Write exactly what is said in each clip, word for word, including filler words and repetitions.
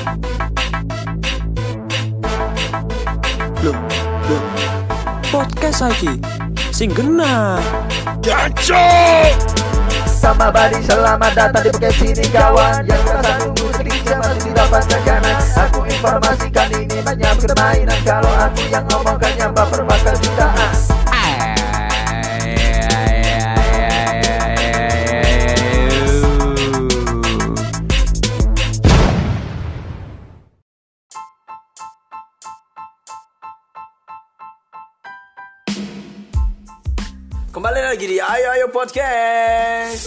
Loh, loh. Podcast lagi. Sing genah. Jancuk. Sama Badi, selamat datang di podcast ini kawan. Yang merasa nunggu sedikit masih tidak tekanan. Aku informasikan ini banyak permainan. Kalau aku yang ngomongkannya baper bakal jutaan. Kembali lagi di Ayo Ayo Podcast.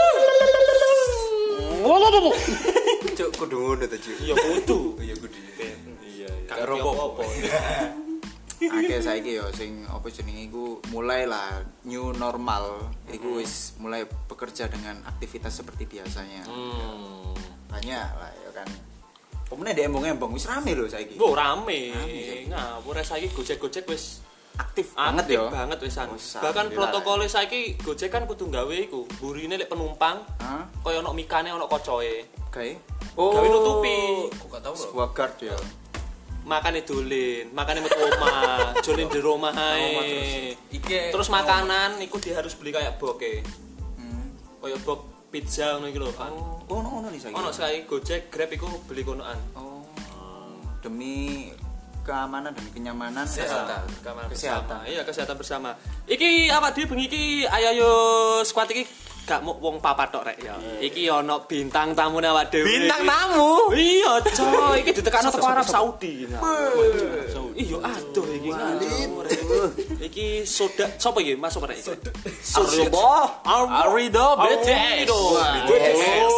Cuk, kudu ngono ta, Cuk. Ya kudu. Iya kudu. Iya, Karo apa? Akeh saiki yo sing apa jenenge iku mulai lah new normal. Iku wis mulai bekerja dengan aktivitas seperti biasanya. Hmm. Banyak lah ya kan. Pemene di embong-embong wis rame lho saiki. Wo rame. Rame. Ngawur saiki Gojek-Gojek wis Aktif aktif banget yo. banget wisan. Oh, Bahkan alhamdulillah. protokole saiki Gojek kan kudu gawe iku, burine lek penumpang, Hah? kaya ono mikane ono kocoe. Oke. Gawe nutupi. Kok gak tau lho. Guard ya. Makane dolin, makane metu omah, jolin di rumah ae. Iki Terus makanan iku dia harus beli kayak boke. Hmm. Kaya bok pizza ngono iki lho, kan. Oh, ono-ono nih saiki. Ono saiki Gojek, Grab iku beli konoan. Oh. Demi keamanan dan kenyamanan Kesehatan, kesehatan. keamanan Kesehatan. bersama. Iya, kesehatan bersama. Iki apa dia bengi iki ayo ayo squad iki gak mau wong papat tok rek ya. Iki ono bintang tamune awak dhewe. Bintang tamu. Iya, coy, iki ditekano teko Arab Saudi. Iya, aduh iki. Iki soda sapa iki? Masuk rek iki. Arido. Arido B T S. B T S.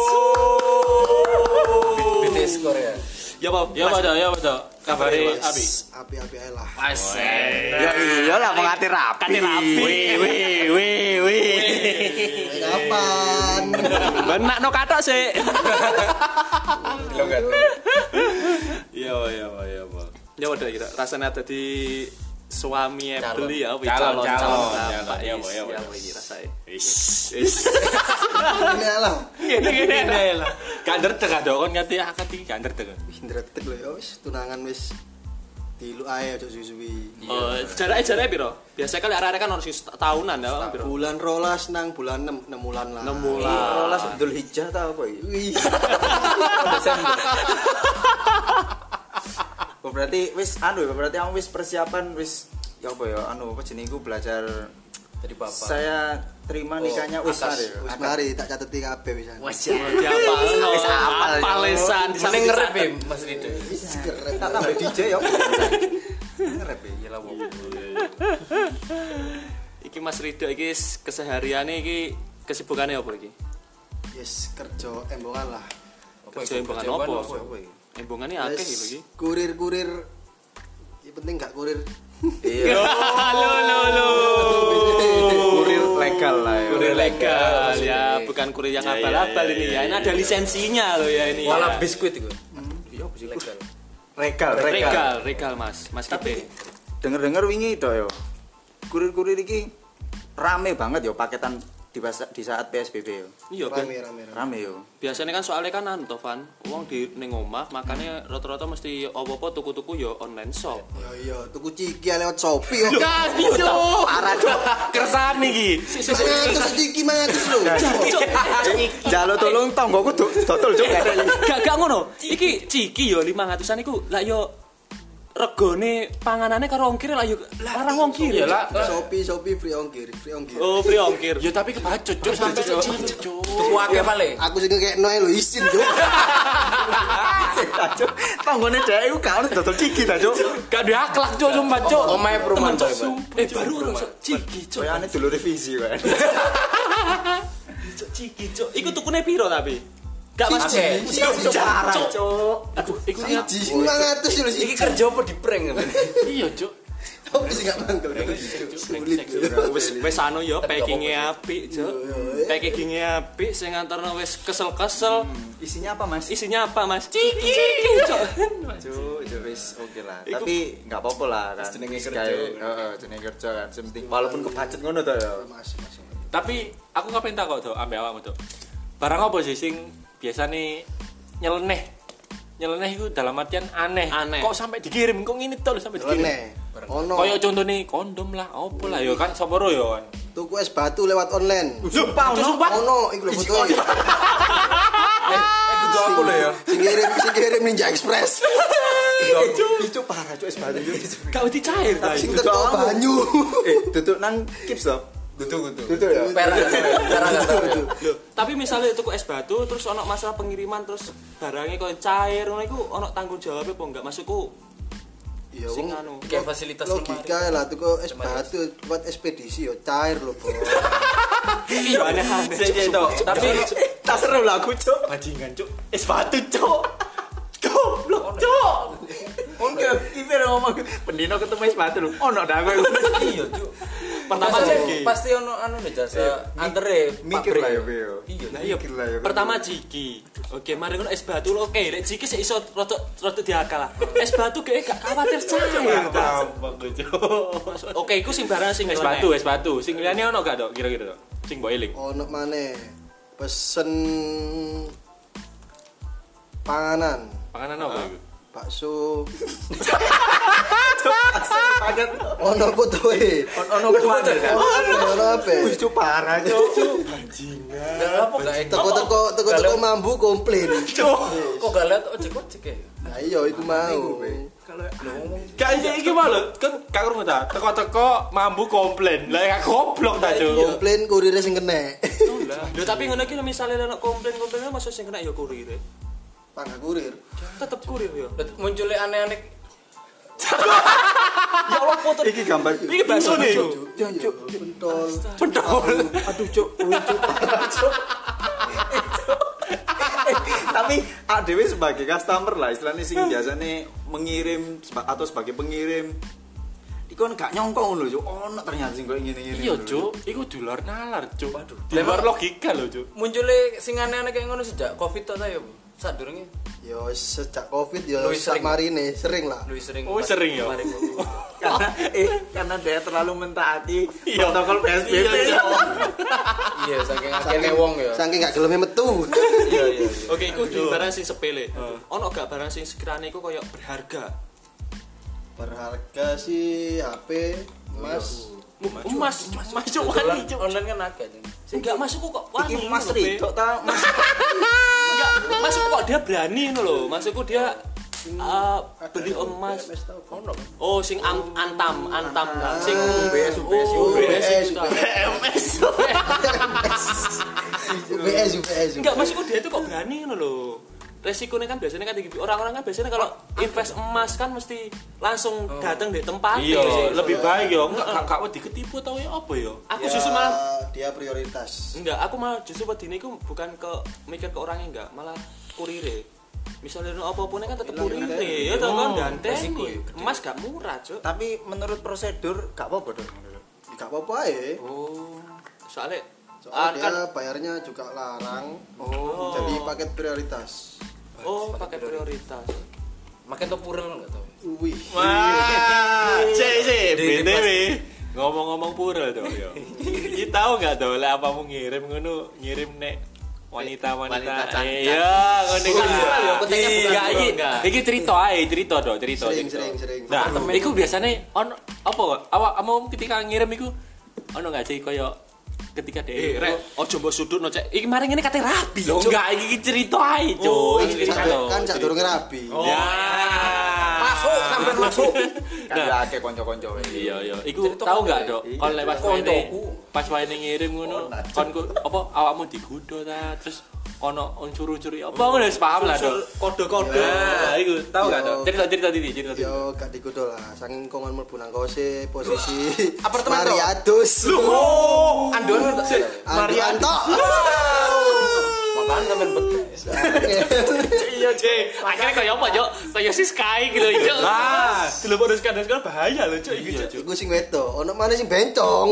B T S Korea. Ya apa? Ya Pak, ya Pak. Kabare Abi. Api-api ae lah. Asik. Ya iyalah mau ngati rapi. Kate rapi. Wih, wih, wih. Kapan? Benak no katok sih. Longgar. Iya, iya, iya, Pak. Ya udah kira rasanya ada di suami beli ya, wih, Calon, calon calon, calon. calon. Ya, Is, ya, ya, ya. wih, rasanya. Wis. Ini lah. Gini gini. Ini lah. Gak ndredeg ada kon ngati akad iki gak ndredeg. Wis ndretek lho ya wis tunangan wis dilu ae aja suwi-suwi. Oh, jarake jarake piro? Biasa kali arek-arek kan harus tahunan ya, piro? Bulan rolas nang bulan enam, enam bulan lah. enam bulan. Rolas Abdul Hijjah ta apa iki? Wih. Oh, berarti wis anu ya, berarti kamu wis persiapan wis ya apa ya anu apa jenenge iku belajar Dari bapak. saya terima nikahnya wis atas. mari. Wis mari tak cateti kabeh pisan. Wes Diapalno. Wis apal, ya. Apal lesan di Mending ngerep ya Mas Rido. Wis keren. Tak tambah D J ya. Ngerep ya iyalah wong. Iki Mas Rido iki kesehariane iki kesibukannya apa iki? Yes, kerja embongan lah. Kerja embongan apa? Embongane akeh Yes, iki lho iki. Kurir-kurir. Ya penting gak kurir. Iya. Halo halo halo. Kurir legal lah ya. Kurir legal ya, bukan kurir yang Ya, abal-abal ya, ya, ini ya, ya. Ini ya, ada ya. lisensinya loh ya ini. Wala ya. biskuit itu. Iya apa sih? Legal. Regal, Regal, regal Mas, Mas Tapi Kipe. denger-denger wingi tok yo. Kurir-kurir iki rame banget yo paketan di pas- di saat P S B B yo. Iya, Rame Ben. rame rame. Rame yo. Biasanya kan soalnya kan anu toh, Van, wong di ning omah makanya rata-rata mesti opo-opo tuku-tuku ya online shop. Ya iya, tuku ciki lewat Shopee yo. Parah cuk. Kersan iki. Mangatus ciki mangatus lho. Jalo tolong tonggoku dodol cuk. Gak gak ngono. Iki ciki yo lima ratusan iku lah yo regane panganane karo ongkir lah yo larang ongkir. Ya lah. Shopee Shopee free ongkir, free ongkir. Oh, free ongkir. Ya tapi kebacut cuk sampe cuk. Tuku akeh paling. Aku sing kayak noe lho isin yo. Cuk. Tonggone dhek iku gak ono dodol ciki ta cuk. Gak diaklak cuk sumpah cuk. Omahe perumahan coy, Pak. Eh baru ora ciki, cuk. Kayane dulu revisi kan. Cuk, ciki, cuk. Iku tukune piro tapi? Gak Mas. Cik. Cuk, Jarang cuk. cuk. Iku iku niat. Ciki mangatus lho Iki sih. kerja apa di prank kan? Iya cuk. Opo sih gak mangkel. Sulit. Wis wis anu ya packing-e apik, Cuk. Packing-e apik sing nganterno wis kesel-kesel. Isinya apa Mas? Isinya apa, Mas? Ciki. Cuk. Cuk, itu wis oke lah. Tapi enggak apa-apa lah kan. Jenenge Wis kerja. kayak- Heeh, jenenge kerja kan. Sementing walaupun kebacet ngono to ya. Masih masih. Tapi aku ngapain tak kok tuh ambek awakmu tuh. Barang apa sih sing biasane nyeleneh nyeleneh iku dalam artian aneh. Aneh. Kok sampai dikirim kok ngene to lho sampai dikirim. Nyeleneh. Ono Kayak contohnya kondom lah, opo lah ya kan sapa ro ya kan. tuku es batu lewat online. Sumpah sumpah. Ono iku lho fotoe. Eh, kudu aku lho ya. Sing kirim sing kirim Ninja Express. Itu parah cuk es batu itu. Gak wedi cair ta. Sing teko banyu. Eh, duduk nang kips to. Duduk duduk. Duduk ya. Perak perak gak tau ya. Loh, tapi misalnya tuku es batu terus ono masalah pengiriman terus barangnya koyo cair ngono iku ono tanggung jawab apa enggak? Maksudku Ya sing wong anu. Kayak fasilitas logika lah tuku es batu buat ekspedisi yo cair lho, Bos. Iya aneh-aneh. Sik to. Tapi Tak seru lah aku cuk. bajingan cuk. Es batu cuk. Goblok cuk. Oke, iki ngomong pendino ketemu es batu lho. Ono dah kowe. iya, Cuk. Pertama Pasti- jiki. pasti ono anu nih jasa antere Mikir lah ya kowe yo. Iya. Nah iya, Mikir lah ya. pertama jiki. Oke, mari ngono es batu lho. Oke, lek jiki sik iso rada rada diakal lah. Es batu kayak gak khawatir cair. Oke, iku sing barang sing es batu, es batu. Sing liyane ono gak, Dok? Kira-kira, Dok? Sing mbok eling. Ono maneh pesen panganan, Panganan apa iku? bakso. Paket Ono fotoe. ono kuat kan. Ono apa? Ono apa? Wis cuk parah cuk. Apa gak Teko-teko teko-teko mambu komplain. Kok gak lihat ojek-ojek ya? Nah iya iku mau. Gak iki iki mah lho, kan gak krungu ta. Teko-teko mambu komplain. Lah gak goblok ta, Cuk. Komplain kurirnya sing kena. Lho tapi ngono iki lho misale ono komplain-komplain masuk sing kena ya kurir. Pangga kurir. Tetep kurir ya. Munculnya aneh-aneh. Ya Allah foto. Iki gambar. Iki bakso nih. Cuk, pentol. Pentol. Aduh cuk, cuk. Tapi A D W sebagai customer lah istilahnya sing biasanya mengirim seba- atau sebagai pengirim iku kan gak nyongkong lho cuk. Ono ternyata sing koyo ngene-ngene. Iya, Cuk. Iku di luar nalar, Cuk. Waduh. Di luar logika lho, Cuk. Munculnya sing aneh-aneh kayak ngono sejak Covid to ta ya, Bu? Sadurunge Yo sejak Covid yo Luwih sak sering. marine sering lah. luwih sering. Oh, sering ya? Kemarin, Bu. Karena eh karena dia terlalu mentaati Iya. protokol P S B B. Iya, Iya, saking akeh wong ya. Saking gak geleme metu. Iya, iya. Oke, iku di barang sing sepele. Ono gak barang sing sekiranya iku koyo berharga? Berharga sih H P Mas. Emas, emas Cuk Dolan wani, Cuk. online kan akeh. Cuk. Enggak masukku kok wani. Iki Mas ngono, Be. Ridho ta Mas. Enggak, masukku kok dia berani ngono lho. Masukku dia eh, beli emas. Ono. Oh, sing am- antam, antam kan. Sing B S U B S U Oh, B B S S, U. B M S. U B S U B S. Enggak, maksudku dia itu kok berani ngono lho. Resikonya kan biasanya kan tinggi. Orang-orang kan biasanya kalau invest emas kan mesti langsung datang di tempat. Iya, lebih baik ya. Enggak gak gak wedi ketipu tau ya apa ya? Aku Ya, justru malah dia prioritas. enggak, aku malah justru wedine iku bukan ke mikir ke orangnya enggak, malah kurire. Misalnya apa-apa kan tetep kurire, ya tau kan ganteng. Emas gak murah, Cuk. Tapi menurut prosedur gak apa-apa dong. Gak apa-apa ya. Oh, soalnya Soalnya kan dia bayarnya juga larang. oh, Jadi paket prioritas. oh pakai prioritas. Makin to purel enggak tahu. Wih. Wah, cek sih, Di- di- B T W. Ngomong-ngomong pura tuh ya. Kita tahu enggak tuh lah apa mau ngirim ngono, ngirim nek wanita-wanita. Wanita cantik. Iya, ngono Bukan kan. pura ya, konteksnya bukan Iya, pura, iki enggak. iki cerita ae, cerita dong, cerita. Sering, cerita. sering, sering. Nah, iku biasanya on apa awak kamu ketika ngirim iku ono enggak sih koyo ketika Eh, deh rek, ojo mbok sudut no, Cek. Iki mari ngene kate rapi, Loh, Cuk. enggak iki cerita ae, Cuk. Oh, Iki cerita. Kan sak durunge rabi. Ya. Masuk sampai masuk. Kan ya akeh kanca-kanca wae. Iya iya, iku Cerita tahu kok enggak, ya? Dok? Iya, Kon lewat koncoku. wene pas wene ngirim ngono, kon ku apa awakmu digodho ta, terus ono unsur-unsur apa ngono wis paham lah, Dok. Kode-kode. Nah, iku tahu enggak, Dok? Yo. Cerita-cerita tadi, cerita tadi. Yo gak dikudo lah, saking kongon mlebu nang kose posisi apartemen toh? Mariadus. Oh, andoan enggak? Marianto. Makan sampean betul. Iya, Cek. Akhirnya kayak apa, Cuk? Kayak si Sky gitu, Cuk. Nah, Dilebok sekarang sekarang bahaya loh, Cuk. Iki, Cuk. Iku sing wedo, ono mana sing bencong.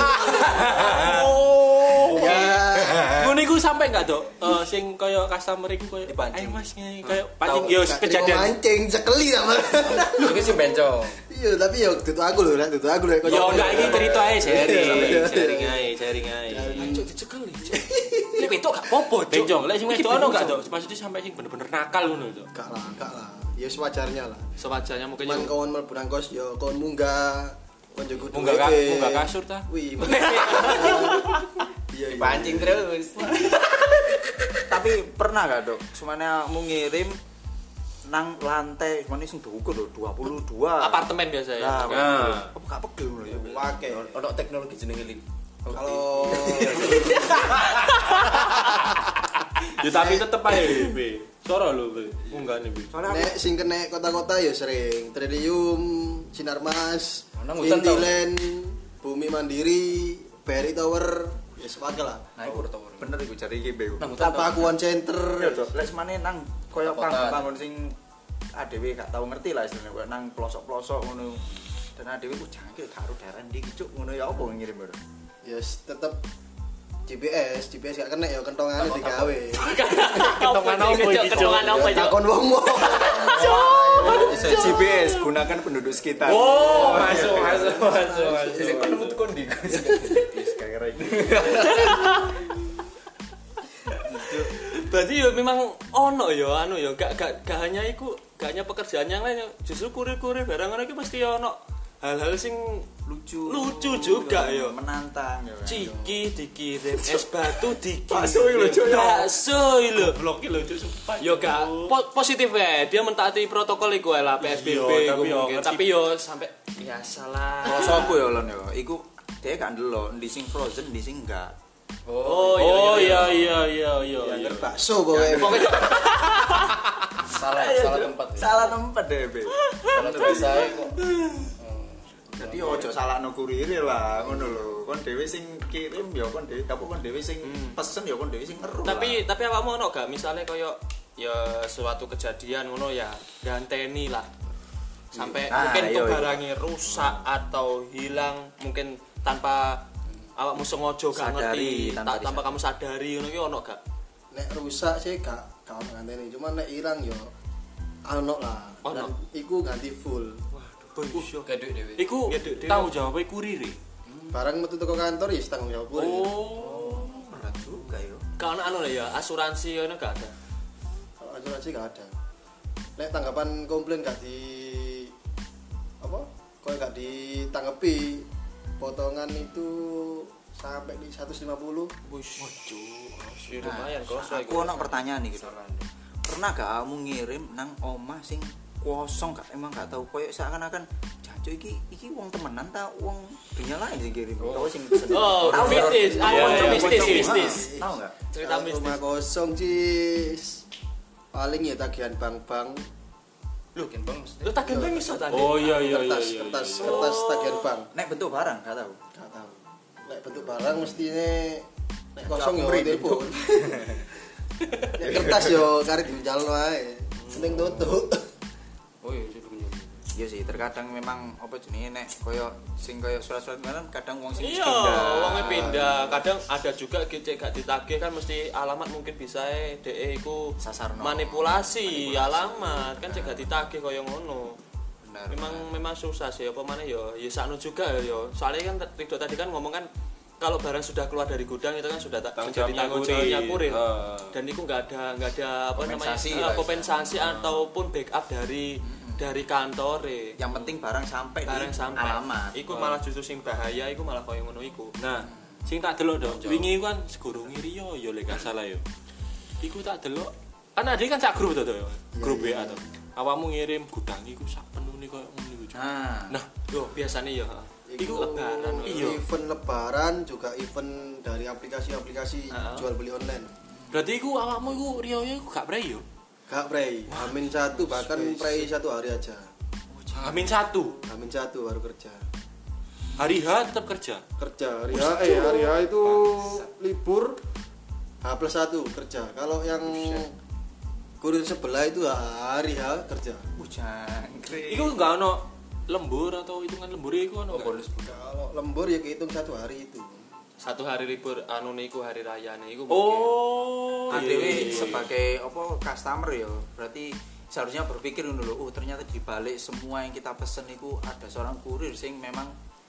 oh. Ya. Ngono iku sampai enggak, Dok? Eh sing koyo customer iku koyo Dipancing. ayo Mas ngene koyo pancing yo Gak terima kejadian. mancing sekeli sama. Iki sing bencong. Iya, tapi yo dudu aku lho, dudu aku lho. Yo enggak iki cerita ae Iya, sharing, iya. sharing ae, sharing ae. Cuk, dicekeli, Cuk. Nek wedok gak popo, Cuk. Bencong, lek sing Iki wedok ono gak, bencong. Cuk? Maksudnya sampai sing bener-bener nakal ngono, Cuk. Gak lah, gak lah. Ya sewajarnya lah. Sewajarnya mungkin Cuman yo. kawan mlebu nang kos ya kawan munggah. Kon jogo Munggah ka- munggah kasur ta? Wih. Iya, iya. Pancing terus. Tapi pernah gak dok? Semuanya mau ngirim nang lantai, mana sing dukur lho dua puluh dua. Apartemen biasa ya. Nah, Nah. apa gak pegel lho ya. Wake. Ono teknologi jenenge link. Kalau Ya tapi tetep ae, Be. Soro lho, Be. Munggah nih, Be. Soalnya aku nek sing kena kota-kota ya sering Trilium, Sinarmas, Nang hutan tau. Intiland, Bumi Mandiri, Berry Tower, ya sepake lah. Nah, iku tower. bener iku jare iki Be. Nang hutan. Tapakuan Center. Ya dok, lek semane nang koyo Kota. bangun sing adewe gak tau ngerti lah istilahnya koyo nang pelosok-pelosok ngono. Dan adewe ku jangkil karo daerah ndi iki cuk ngono ya apa ngirim bro. Ya yes, tetep G P S, G P S gak kena ya kentongane digawe. Kentongan apa iki, Cuk? Kentongan apa, Cuk? Takon wong-wong. G P S gunakan penduduk sekitar. Oh, masuk, masuk, masuk, masuk. Sing penemu tuh kondi. Kayak ini. Berarti yo memang ono yo anu yo gak gak gak hanya iku, gak hanya pekerjaan yang lain yo. Justru kurir-kurir barang ngono iki mesti ono hal-hal sing Lucu. lucu juga yo. Menantang ya. Ciki dikirim, es batu dikirim. Bakso iki lho, Cuk, ya. Bakso iki lho. Blok iki lho, Cuk, sumpah. Yo gak po- positif ya, dia mentaati protokol iku lah P S B B Iya, iku tapi yo mungkin. ngerti. Tapi yo sampai biasalah. Kalau sopo ya lon ya, iku dia gak ndelok ndi sing frozen ndi sing enggak. Oh Oh iya iya iya iya. Ya iya. bakso pokoknya. Pokoknya Salah, salah tempat. ya. Salah tempat deh, Be. Kalau biasa kok. Jadi ojo salahno kurir lah, ngono lho. Kon dhewe sing kirim ya kon dhewe, apa kon dhewe sing pesen ya kon dhewe sing ngeru. tapi tapi awakmu ono gak misalnya koyo ya suatu kejadian ngono ya ganteni lah sampai Nah, mungkin iya, tuh iya. barangnya rusak atau hilang mungkin tanpa awakmu sengaja gak Sadari, ngerti tanpa ta- tanpa kamu sadari ngono ki ono gak? Nek rusak sih gak gak ono nganteni, cuman nek irang yo ono lah. Ono. Dan iku ganti full. Waduh, Kayak duit dhewe. Iku Ya, Dek, Dek. tanggung jawab kurir. Barang metu teko kantor ya tanggung jawab kurir. Oh. berat juga yo. Kalau anu lah ya asuransi ngono gak ada. Kalau asuransi gak ada. Nek tanggapan komplain gak di apa? Kok gak ditanggapi potongan itu sampai di seratus lima puluh. Wis, waduh, lumayan Nah, kosong aku ono pertanyaan nih gitu. Pernah gak kamu ngirim nang omah sing kosong gak emang gak tahu koyo seakan-akan jancuk iki iki wong temenan ta wong dunia lain sing kirim. Tahu sing pesen. Oh, Tahu nggak? mistis. Tahu Iya, nggak? iya, mistis, Tahu nggak? mistis. Tahu enggak? Cerita Kalau mistis. rumah kosong cis. Paling ya tagihan bank-bank. Lu kan Bang mesti. Lu tak gendeng iso tadi. Oh iya iya iya. kertas, iya, kertas, iya. kertas tagihan bank. Nek bentuk barang gak tahu. Gak tahu. Nek bentuk barang mestinya nek kosong yo Capri, telepon. Nek kertas yo kari diunjalno ae. Penting tutup. Oh iya, itu dulu. Iya sih, terkadang memang apa jenenge nek koyo sing koyo surat-surat kan kadang wong sing Iya, wongnya pindah. Kadang ada juga gecek gak ditagih kan mesti alamat mungkin bisa e D E iku Sasarno. manipulasi, alamat kan cek gak ditagih koyo ngono. Benar. Memang memang susah sih apa mana ya ya sakno juga ya. Soalnya kan Ridho tadi kan ngomong kan kalau barang sudah keluar dari gudang itu kan sudah tak Tanggung menjadi jawabnya tanggung kurir. jawabnya kurir. Ah. Dan itu nggak ada nggak ada apa Kompensasi namanya lah, eh, kompensasi ataupun backup dari dari kantor Yang penting barang sampai barang di sampai alamat. iku malah justru sing bahaya iku malah koyo ngono iku. Nah, sing tak delok dong. Wingi kan segurunge Rio ya lek gak salah yo. Iku tak delok. Kan ada kan sak grup to to. Grup W A to. Awakmu ngirim gudang iku sak penune koyo ngono iku. Nah, Nah, yo biasanya ya. Iku lebaran. Iya. Event lebaran juga event dari aplikasi-aplikasi Ah. jual beli online. Berarti iku awakmu iku Rio iku gak prei yo. Gak prei, Amin satu bahkan prei satu hari aja. Amin satu. Amin satu baru kerja. Hari H tetap kerja. Kerja hari H, eh hari H itu libur. H plus satu kerja. Kalau yang kurir sebelah itu hari H kerja. jangkrik. Iku gak ono lembur atau hitungan lembur iku ono. bonus. Kalau lembur ya kehitung satu hari itu. Satu hari libur anu niku hari raya niku. Oh, Adewe iya, iya, iya. sebagai apa customer ya, berarti seharusnya berpikir dulu, oh ternyata di balik semua yang kita pesen itu ada seorang kurir sing memang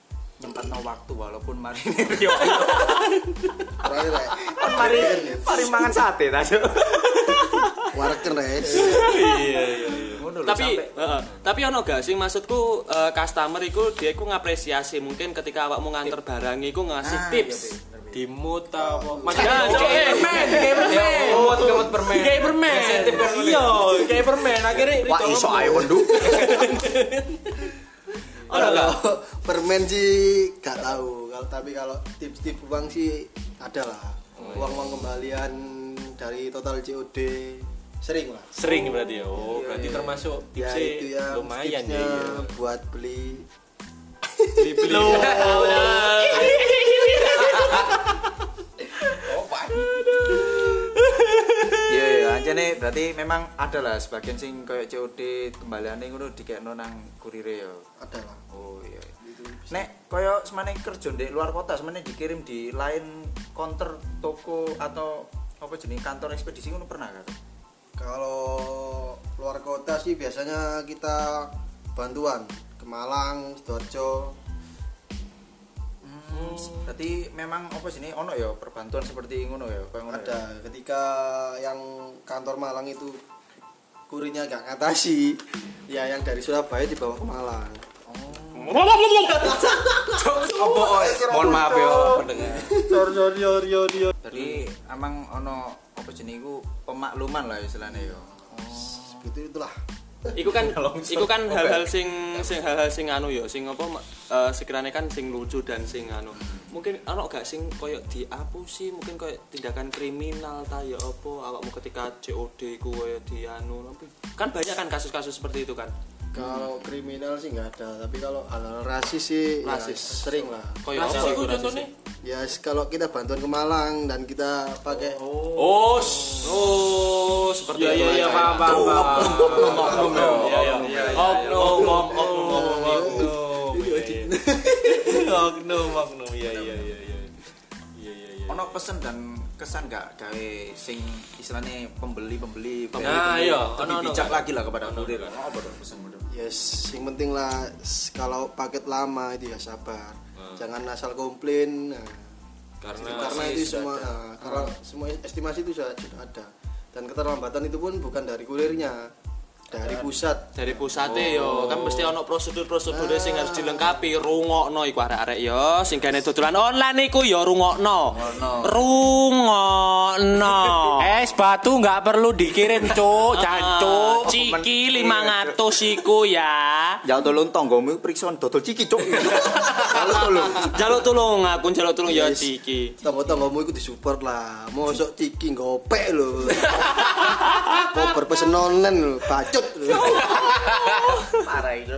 nyempatno waktu walaupun mari Rio. Terakhir rek. Mari mari mangan sate ta, Cuk. Wareken res. Iya iya iya. Ngono lho Tapi sampai heeh. Tapi ono gak sih maksudku eh, customer iku dia iku ngapresiasi mungkin ketika awakmu nganter barang iku ngasih Ah, tips. iya, Pi. Dimut apa? Mas ya, cok, eh, permen, kayak permen. Kemot kemot permen. Kayak permen. Insentif kan ngono. Iya, kayak permen. Akhirnya wah iso ae wendu. ono gak? Kalau permen sih gak tahu. Kalau tapi kalau tips-tips uang sih ada lah. Uang-uang kembalian dari total C O D sering lah. Sering berarti ya. Oh, Iya, berarti iya. termasuk Ya tipsnya itu ya lumayan tipsnya ya. Iya. buat beli Beli-beli. Iya, iya, ancene berarti memang ada lah sebagian sing koyo C O D kembaliane ngono dikekno nang kurire ya. ada lah. Oh iya. Nek koyo semane kerja di luar kota semane dikirim di lain counter toko atau apa jenis kantor ekspedisi ngono pernah kan? Kalau luar kota sih biasanya kita bantuan ke Malang, Sidoarjo. Hmm, berarti memang apa sih ini ono ya perbantuan seperti ngono ya koyo ngono. ya? Ada ketika yang kantor Malang itu kurirnya gak ngatasi, ya yang dari Surabaya dibawa ke Malang. Apa oi? Mohon maaf ya pendengar. Sorry sorry sorry sorry. Jadi emang ono apa jenis iku pemakluman lah istilahnya ya. Seperti itulah. Iku kan iku kan hal-hal sing sing hal-hal sing anu ya, sing apa eh, sekiranya kan sing lucu dan sing anu. Mungkin ono gak sing koyo diapusi, mungkin koyo tindakan kriminal ta ya apa awakmu ketika C O D ku koyo di anu tapi kan banyak kan kasus-kasus seperti itu kan. Kalau kriminal sih nggak ada, tapi kalau hal-hal rasis sih Rasis. ya sering lah. Koyo Rasis apa iku rasis? contohnya? Ya kalau kita bantuan ke Malang dan kita pakai Oh, s- Oh, seperti iya itu. iya iya paham paham paham. Oknum, Iya iya iya. Oknum oknum oknum oknum. Oknum oknum iya iya iya iya. Iya iya iya. Ono pesen dan kesan gak gawe sing istilahnya pembeli-pembeli Nah, iya, lebih ono, ono, bijak kan? lagi lah kepada kurir. kan? Ono apa dong pesen-pesen? yes, yang penting lah s- kalau paket lama itu ya sabar. Jangan asal komplain. Nah, Karena karena itu semua nah, karena semua estimasi itu sudah, sudah ada. Dan keterlambatan itu pun bukan dari kurirnya, dari pusat. Dari pusate yo kan mesti ono prosedur-prosedur sing harus dilengkapi. Rungokno iku arek-arek yo sing gane dodolan online iku yo rungokno. Rungokno. Es batu nggak perlu dikirim cuk, jancuk. Ciki lima ratus iku ya. Ya tolong tonggomu periksa dodol ciki cuk. Halo tolong. Jaluk tulung aku jaluk tulung ya Ciki. Tonggo-tonggomu itu disupport lah. Mosok ciki ngopek lho. Kok berpesen online lho, bacot lho. Parah itu.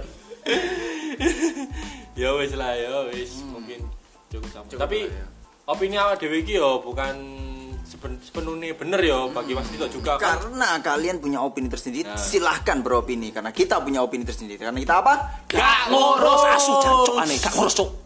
ya wis lah ya wis mungkin cukup sampai. Cukup Tapi lah, ya. opini awak dhewe iki yo bukan seben- sepenuhnya bener yo bagi Mas Tito juga kan. Karena kalian punya opini tersendiri, Nah. silahkan beropini. Karena kita punya opini tersendiri. Karena kita apa? Gak ngurus asu jancuk aneh, gak ngurus cuk.